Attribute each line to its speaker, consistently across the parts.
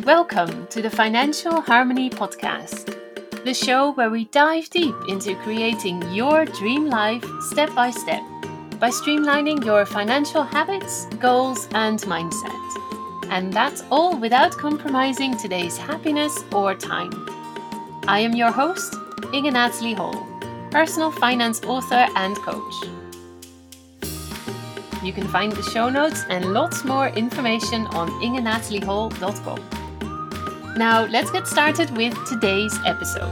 Speaker 1: Welcome to the Financial Harmony Podcast, the show where we dive deep into creating your dream life step by step by streamlining your financial habits, goals, and mindset. And that's all without compromising today's happiness or time. I am your host, Inge Natalie Hall, personal finance author and coach. You can find the show notes and lots more information on ingenataliehall.com. Now, let's get started with today's episode.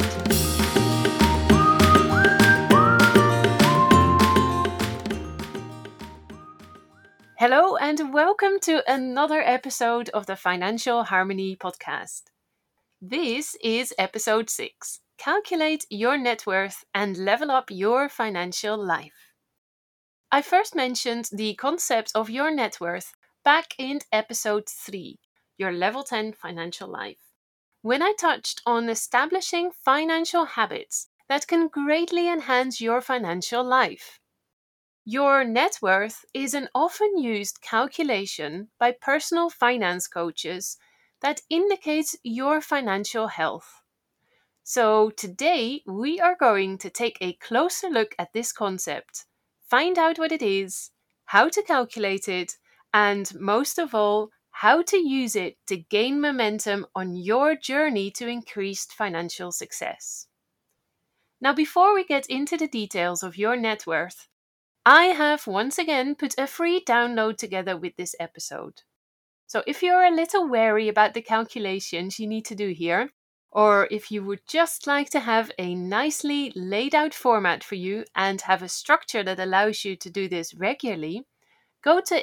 Speaker 1: Hello, and welcome to another episode of the Financial Harmony Podcast. This is episode 6. Calculate your net worth and level up your financial life. I first mentioned the concept of your net worth back in episode 3, your level 10 financial life, when I touched on establishing financial habits that can greatly enhance your financial life. Your net worth is an often used calculation by personal finance coaches that indicates your financial health. So today we are going to take a closer look at this concept, find out what it is, how to calculate it, and most of all, how to use it to gain momentum on your journey to increased financial success. Now, before we get into the details of your net worth, I have once again put a free download together with this episode. So if you're a little wary about the calculations you need to do here, or if you would just like to have a nicely laid out format for you and have a structure that allows you to do this regularly, go to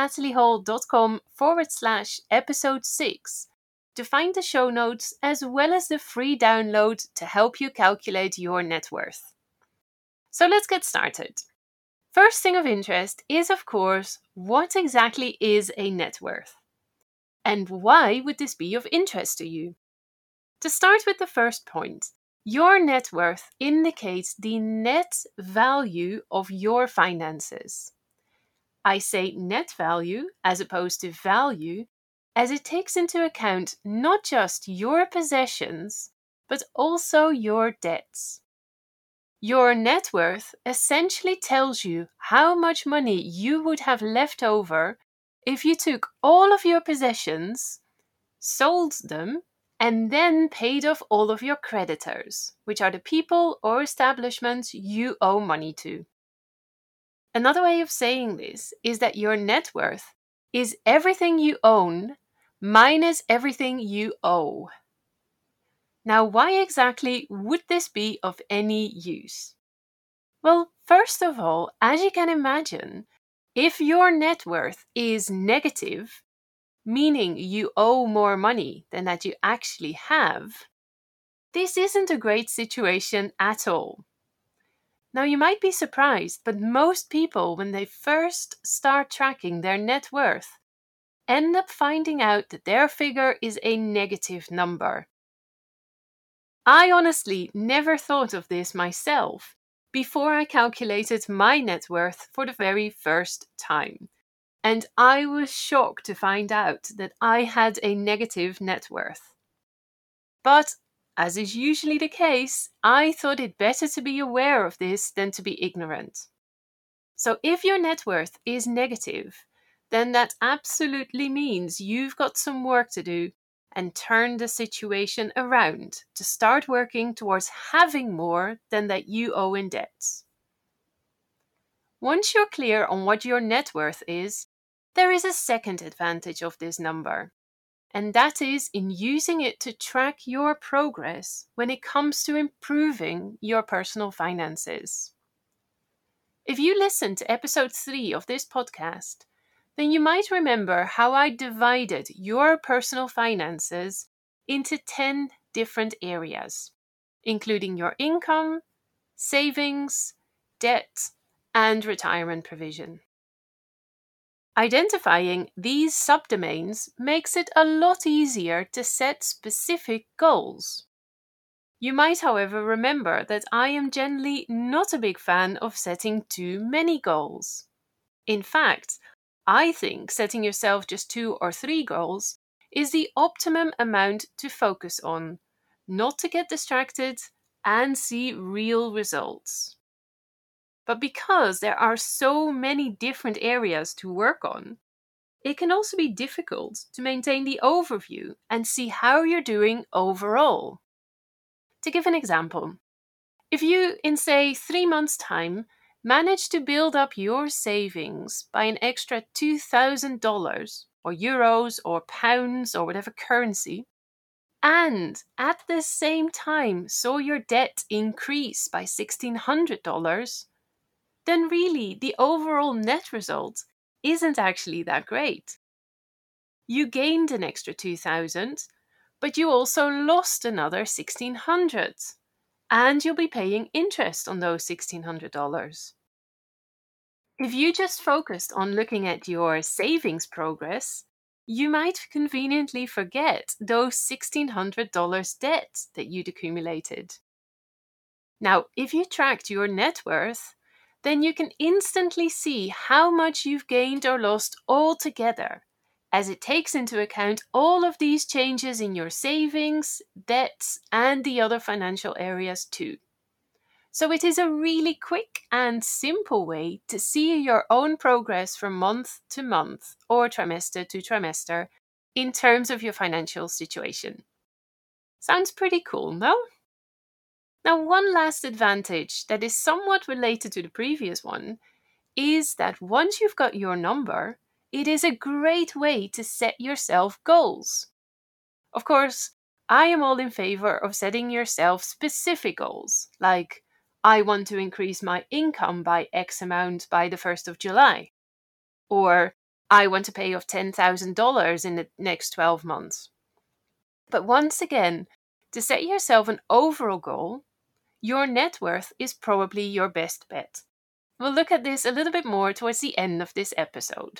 Speaker 1: ingenataliehall.com/episode 6 to find the show notes as well as the free download to help you calculate your net worth. So let's get started. First thing of interest is, of course, what exactly is a net worth? And why would this be of interest to you? To start with the first point, your net worth indicates the net value of your finances. I say net value as opposed to value, as it takes into account not just your possessions, but also your debts. Your net worth essentially tells you how much money you would have left over if you took all of your possessions, sold them, and then paid off all of your creditors, which are the people or establishments you owe money to. Another way of saying this is that your net worth is everything you own minus everything you owe. Now, why exactly would this be of any use? Well, first of all, as you can imagine, if your net worth is negative, meaning you owe more money than that you actually have, this isn't a great situation at all. Now, you might be surprised, but most people, when they first start tracking their net worth, end up finding out that their figure is a negative number. I honestly never thought of this myself before I calculated my net worth for the very first time. And I was shocked to find out that I had a negative net worth. But as is usually the case, I thought it better to be aware of this than to be ignorant. So if your net worth is negative, then that absolutely means you've got some work to do and turn the situation around to start working towards having more than that you owe in debts. Once you're clear on what your net worth is, there is a second advantage of this number, and that is in using it to track your progress when it comes to improving your personal finances. If you listened to episode 3 of this podcast, then you might remember how I divided your personal finances into 10 different areas, including your income, savings, debt, and retirement provision. Identifying these subdomains makes it a lot easier to set specific goals. You might, however, remember that I am generally not a big fan of setting too many goals. In fact, I think setting yourself just 2 or 3 goals is the optimum amount to focus on, not to get distracted and see real results. But because there are so many different areas to work on, it can also be difficult to maintain the overview and see how you're doing overall. To give an example, if you, in say 3 months' time, manage to build up your savings by an extra $2,000 or euros or pounds or whatever currency, and at the same time saw your debt increase by $1,600, then really the overall net result isn't actually that great. You gained an extra 2,000, but you also lost another 1,600, and you'll be paying interest on those $1,600. If you just focused on looking at your savings progress, you might conveniently forget those $1,600 debt that you'd accumulated. Now, if you tracked your net worth, then you can instantly see how much you've gained or lost altogether, as it takes into account all of these changes in your savings, debts, and the other financial areas too. So it is a really quick and simple way to see your own progress from month to month or trimester to trimester in terms of your financial situation. Sounds pretty cool, no? Now, one last advantage that is somewhat related to the previous one is that once you've got your number, it is a great way to set yourself goals. Of course, I am all in favor of setting yourself specific goals, like I want to increase my income by X amount by the 1st of July, or I want to pay off $10,000 in the next 12 months. But once again, to set yourself an overall goal, your net worth is probably your best bet. We'll look at this a little bit more towards the end of this episode.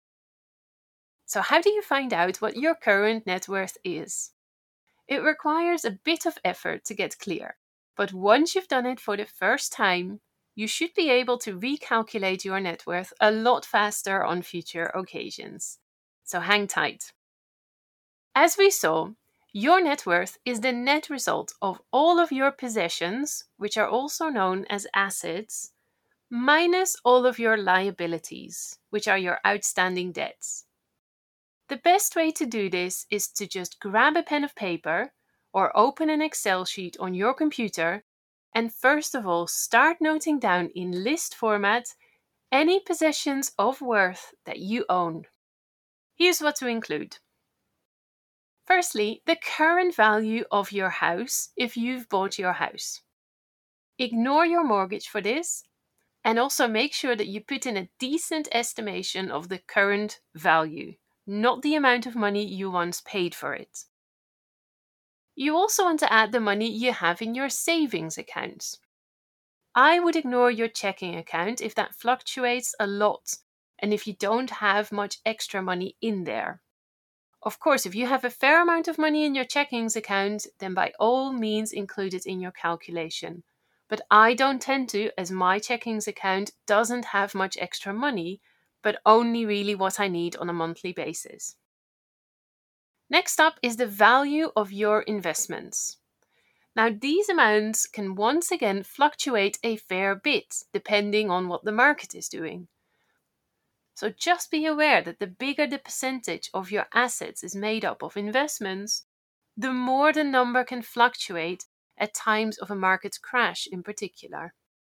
Speaker 1: So how do you find out what your current net worth is? It requires a bit of effort to get clear, but once you've done it for the first time, you should be able to recalculate your net worth a lot faster on future occasions. So hang tight. As we saw, your net worth is the net result of all of your possessions, which are also known as assets, minus all of your liabilities, which are your outstanding debts. The best way to do this is to just grab a pen of paper or open an Excel sheet on your computer and first of all start noting down in list format any possessions of worth that you own. Here's what to include. Firstly, the current value of your house if you've bought your house. Ignore your mortgage for this and also make sure that you put in a decent estimation of the current value, not the amount of money you once paid for it. You also want to add the money you have in your savings accounts. I would ignore your checking account if that fluctuates a lot and if you don't have much extra money in there. Of course, if you have a fair amount of money in your checkings account, then by all means include it in your calculation. But I don't tend to, as my checkings account doesn't have much extra money, but only really what I need on a monthly basis. Next up is the value of your investments. Now, these amounts can once again fluctuate a fair bit depending on what the market is doing. So just be aware that the bigger the percentage of your assets is made up of investments, the more the number can fluctuate at times of a market crash in particular.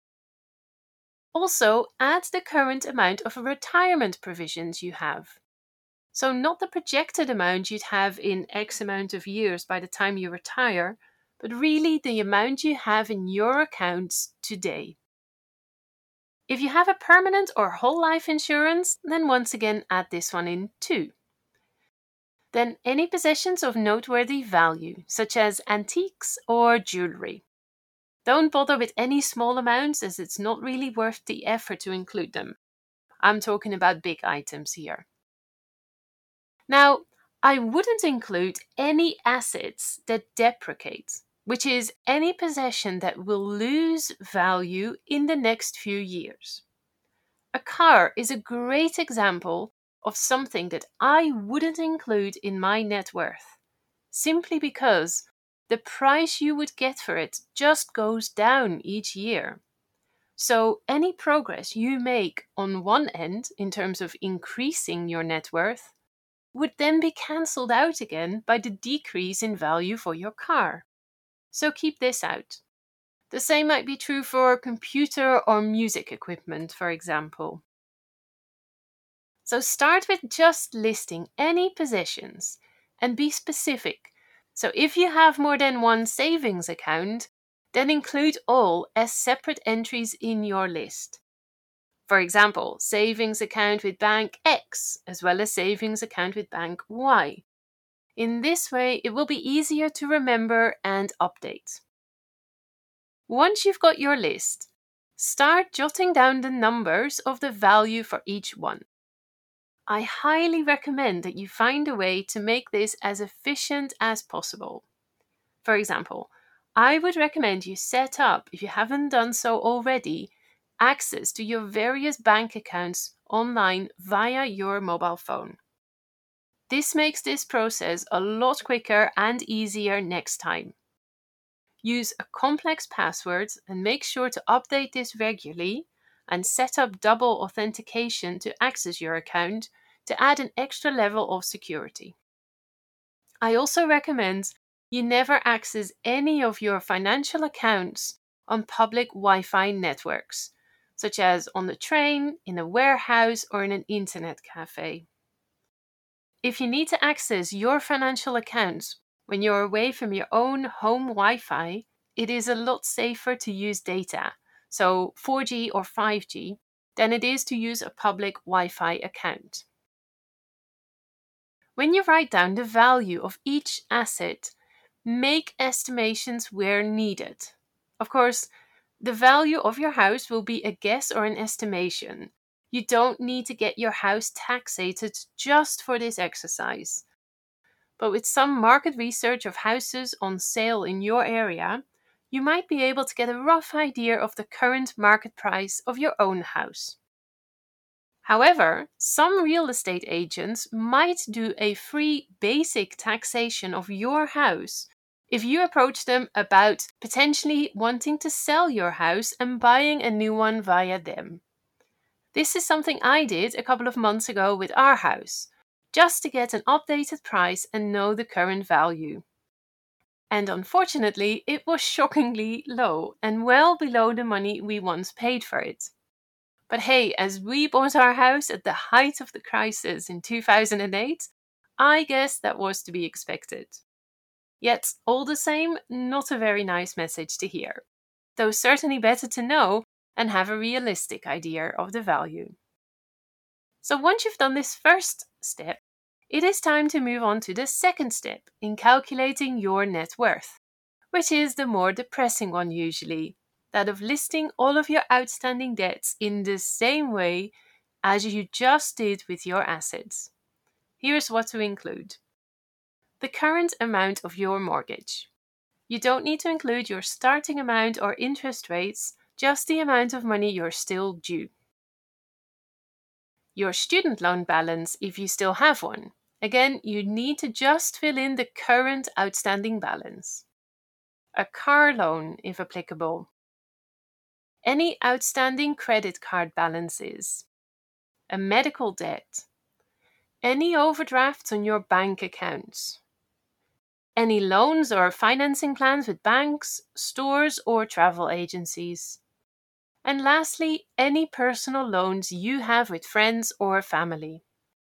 Speaker 1: Also, add the current amount of retirement provisions you have. So not the projected amount you'd have in X amount of years by the time you retire, but really the amount you have in your accounts today. If you have a permanent or whole life insurance, then once again add this one in too. Then any possessions of noteworthy value, such as antiques or jewelry. Don't bother with any small amounts as it's not really worth the effort to include them. I'm talking about big items here. Now, I wouldn't include any assets that depreciate, which is any possession that will lose value in the next few years. A car is a great example of something that I wouldn't include in my net worth, simply because the price you would get for it just goes down each year. So any progress you make on one end in terms of increasing your net worth would then be cancelled out again by the decrease in value for your car. So keep this out. The same might be true for computer or music equipment, for example. So start with just listing any possessions and be specific. So if you have more than one savings account, then include all as separate entries in your list. For example, savings account with bank X as well as savings account with bank Y. In this way, it will be easier to remember and update. Once you've got your list, start jotting down the numbers of the value for each one. I highly recommend that you find a way to make this as efficient as possible. For example, I would recommend you set up, if you haven't done so already, access to your various bank accounts online via your mobile phone. This makes this process a lot quicker and easier next time. Use a complex password and make sure to update this regularly and set up double authentication to access your account to add an extra level of security. I also recommend you never access any of your financial accounts on public Wi-Fi networks, such as on the train, in a warehouse, or in an internet cafe. If you need to access your financial accounts when you're away from your own home Wi-Fi, it is a lot safer to use data, so 4G or 5G, than it is to use a public Wi-Fi account. When you write down the value of each asset, make estimations where needed. Of course, the value of your house will be a guess or an estimation. You don't need to get your house taxated just for this exercise. But with some market research of houses on sale in your area, you might be able to get a rough idea of the current market price of your own house. However, some real estate agents might do a free basic taxation of your house if you approach them about potentially wanting to sell your house and buying a new one via them. This is something I did a couple of months ago with our house, just to get an updated price and know the current value. And unfortunately, it was shockingly low and well below the money we once paid for it. But hey, as we bought our house at the height of the crisis in 2008, I guess that was to be expected. Yet, all the same, not a very nice message to hear, though certainly better to know and have a realistic idea of the value. So once you've done this first step, it is time to move on to the second step in calculating your net worth, which is the more depressing one usually, that of listing all of your outstanding debts in the same way as you just did with your assets. Here's what to include. The current amount of your mortgage. You don't need to include your starting amount or interest rates, just the amount of money you're still due. Your student loan balance, if you still have one. Again, you need to just fill in the current outstanding balance. A car loan, if applicable. Any outstanding credit card balances. A medical debt. Any overdrafts on your bank accounts. Any loans or financing plans with banks, stores, or travel agencies. And lastly, any personal loans you have with friends or family.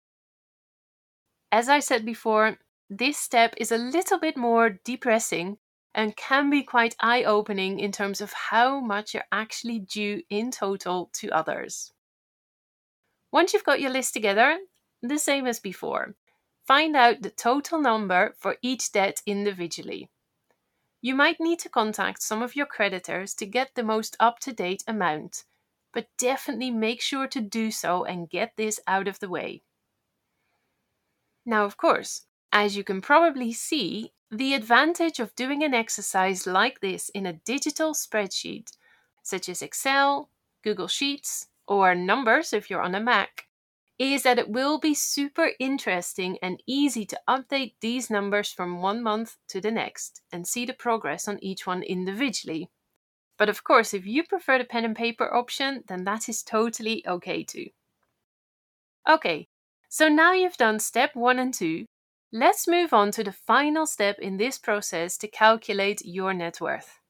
Speaker 1: As I said before, this step is a little bit more depressing and can be quite eye-opening in terms of how much you're actually due in total to others. Once you've got your list together, the same as before, find out the total number for each debt individually. You might need to contact some of your creditors to get the most up-to-date amount, but definitely make sure to do so and get this out of the way. Now, of course, as you can probably see, the advantage of doing an exercise like this in a digital spreadsheet, such as Excel, Google Sheets, or Numbers if you're on a Mac, is that it will be super interesting and easy to update these numbers from one month to the next and see the progress on each one individually. But of course, if you prefer the pen and paper option, then that is totally okay too. Okay, so now you've done step 1 and 2, let's move on to the final step in this process to calculate your net worth.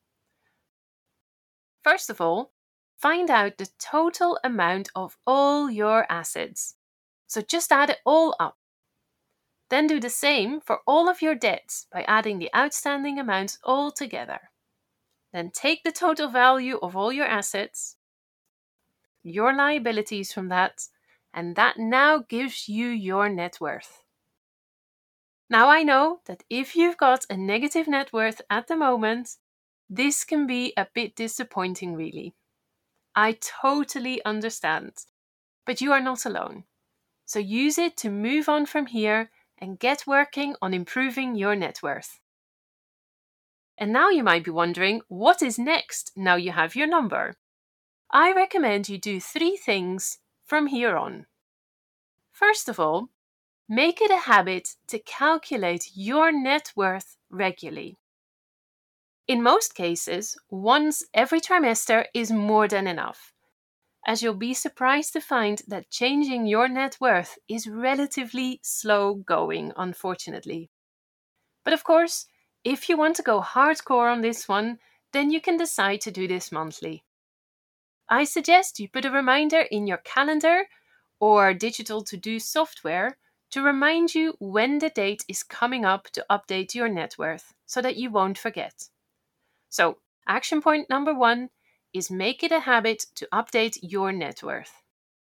Speaker 1: First of all, find out the total amount of all your assets. So just add it all up. Then do the same for all of your debts by adding the outstanding amounts all together. Then take the total value of all your assets, your liabilities from that, and that now gives you your net worth. Now I know that if you've got a negative net worth at the moment, this can be a bit disappointing really. I totally understand, but you are not alone. So use it to move on from here and get working on improving your net worth. And now you might be wondering, what is next now you have your number? I recommend you do 3 things from here on. First of all, make it a habit to calculate your net worth regularly. In most cases, once every trimester is more than enough, as you'll be surprised to find that changing your net worth is relatively slow going, unfortunately. But of course, if you want to go hardcore on this one, then you can decide to do this monthly. I suggest you put a reminder in your calendar or digital to-do software to remind you when the date is coming up to update your net worth so that you won't forget. So, action point number 1 is make it a habit to update your net worth.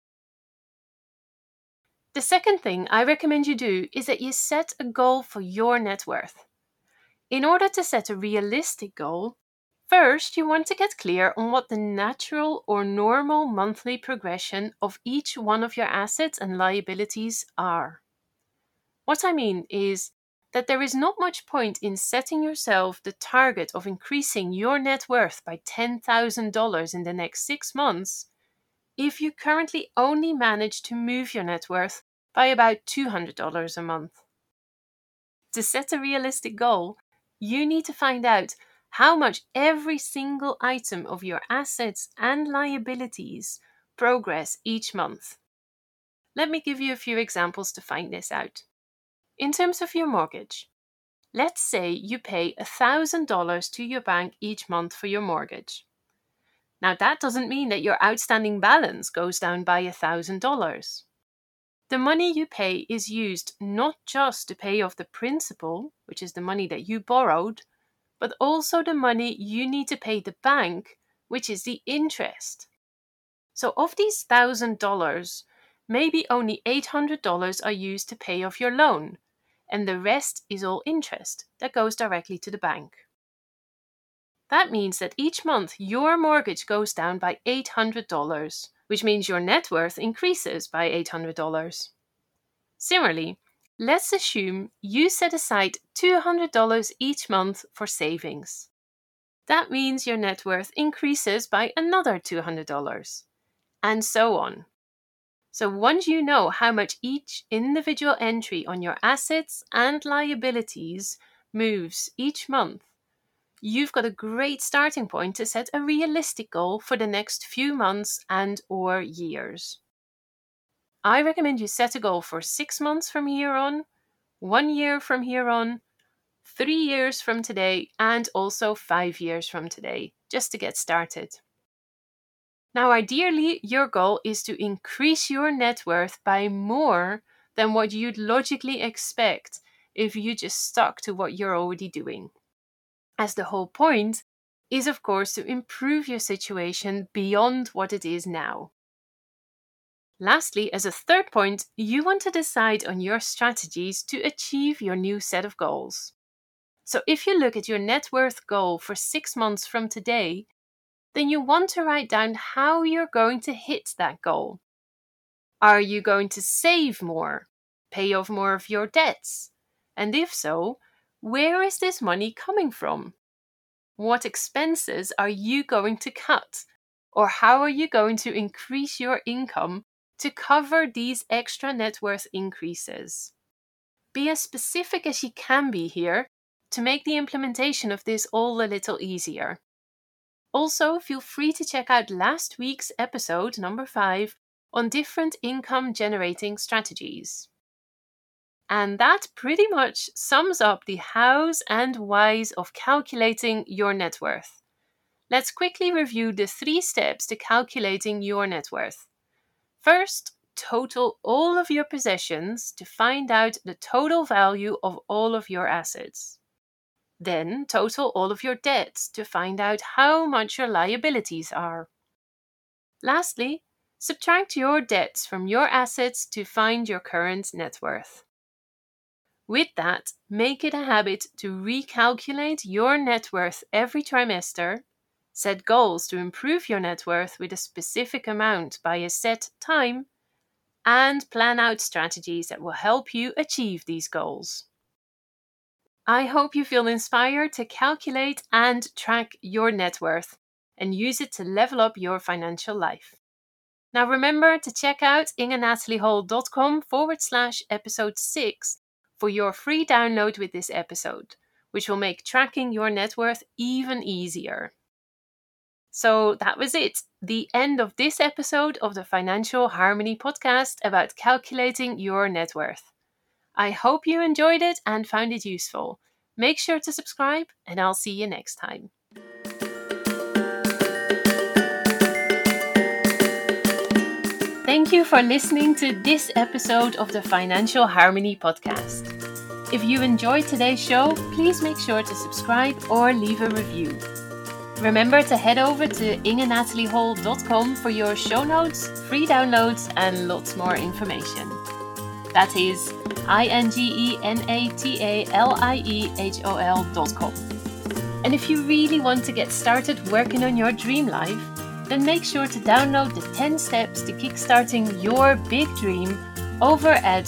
Speaker 1: The second thing I recommend you do is that you set a goal for your net worth. In order to set a realistic goal, first you want to get clear on what the natural or normal monthly progression of each one of your assets and liabilities are. What I mean is that there is not much point in setting yourself the target of increasing your net worth by $10,000 in the next 6 months if you currently only manage to move your net worth by about $200 a month. To set a realistic goal, you need to find out how much every single item of your assets and liabilities progress each month. Let me give you a few examples to find this out. In terms of your mortgage, let's say you pay $1,000 to your bank each month for your mortgage. Now that doesn't mean that your outstanding balance goes down by $1,000. The money you pay is used not just to pay off the principal, which is the money that you borrowed, but also the money you need to pay the bank, which is the interest. So of these $1,000, maybe only $800 are used to pay off your loan, and the rest is all interest that goes directly to the bank. That means that each month your mortgage goes down by $800, which means your net worth increases by $800. Similarly, let's assume you set aside $200 each month for savings. That means your net worth increases by another $200, and so on. So once you know how much each individual entry on your assets and liabilities moves each month, you've got a great starting point to set a realistic goal for the next few months and or years. I recommend you set a goal for 6 months from here on, 1 year from here on, 3 years from today, and also 5 years from today, just to get started. Now, ideally, your goal is to increase your net worth by more than what you'd logically expect if you just stuck to what you're already doing. As the whole point is, of course, to improve your situation beyond what it is now. Lastly, as a third point, you want to decide on your strategies to achieve your new set of goals. So if you look at your net worth goal for 6 months from today, then you want to write down how you're going to hit that goal. Are you going to save more, pay off more of your debts? And if so, where is this money coming from? What expenses are you going to cut? Or how are you going to increase your income to cover these extra net worth increases. Be as specific as you can be here to make the implementation of this all a little easier. Also, feel free to check out last week's episode, number 5, on different income generating strategies. And that pretty much sums up the hows and whys of calculating your net worth. Let's quickly review the 3 steps to calculating your net worth. First, total all of your possessions to find out the total value of all of your assets. Then, total all of your debts to find out how much your liabilities are. Lastly, subtract your debts from your assets to find your current net worth. With that, make it a habit to recalculate your net worth every trimester, set goals to improve your net worth with a specific amount by a set time, and plan out strategies that will help you achieve these goals. I hope you feel inspired to calculate and track your net worth and use it to level up your financial life. Now remember to check out ingenathaliehall.com/episode 6 for your free download with this episode, which will make tracking your net worth even easier. So that was it, the end of this episode of the Financial Harmony podcast about calculating your net worth. I hope you enjoyed it and found it useful. Make sure to subscribe, and I'll see you next time. Thank you for listening to this episode of the Financial Harmony podcast. If you enjoyed today's show, please make sure to subscribe or leave a review. Remember to head over to ingenathaliehall.com for your show notes, free downloads, and lots more information. That is ingenathaliehall.com. And if you really want to get started working on your dream life, then make sure to download the 10 steps to kickstarting your big dream over at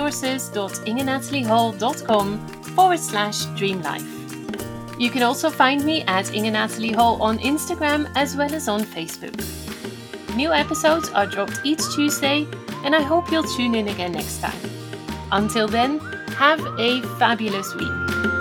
Speaker 1: resources.ingenathaliehall.com/dreamlife. You can also find me at Inge Nathalie Hall on Instagram as well as on Facebook. New episodes are dropped each Tuesday, and I hope you'll tune in again next time. Until then, have a fabulous week.